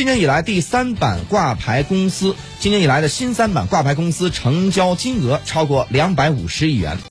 今年以来的新三板挂牌公司成交金额超过250亿元。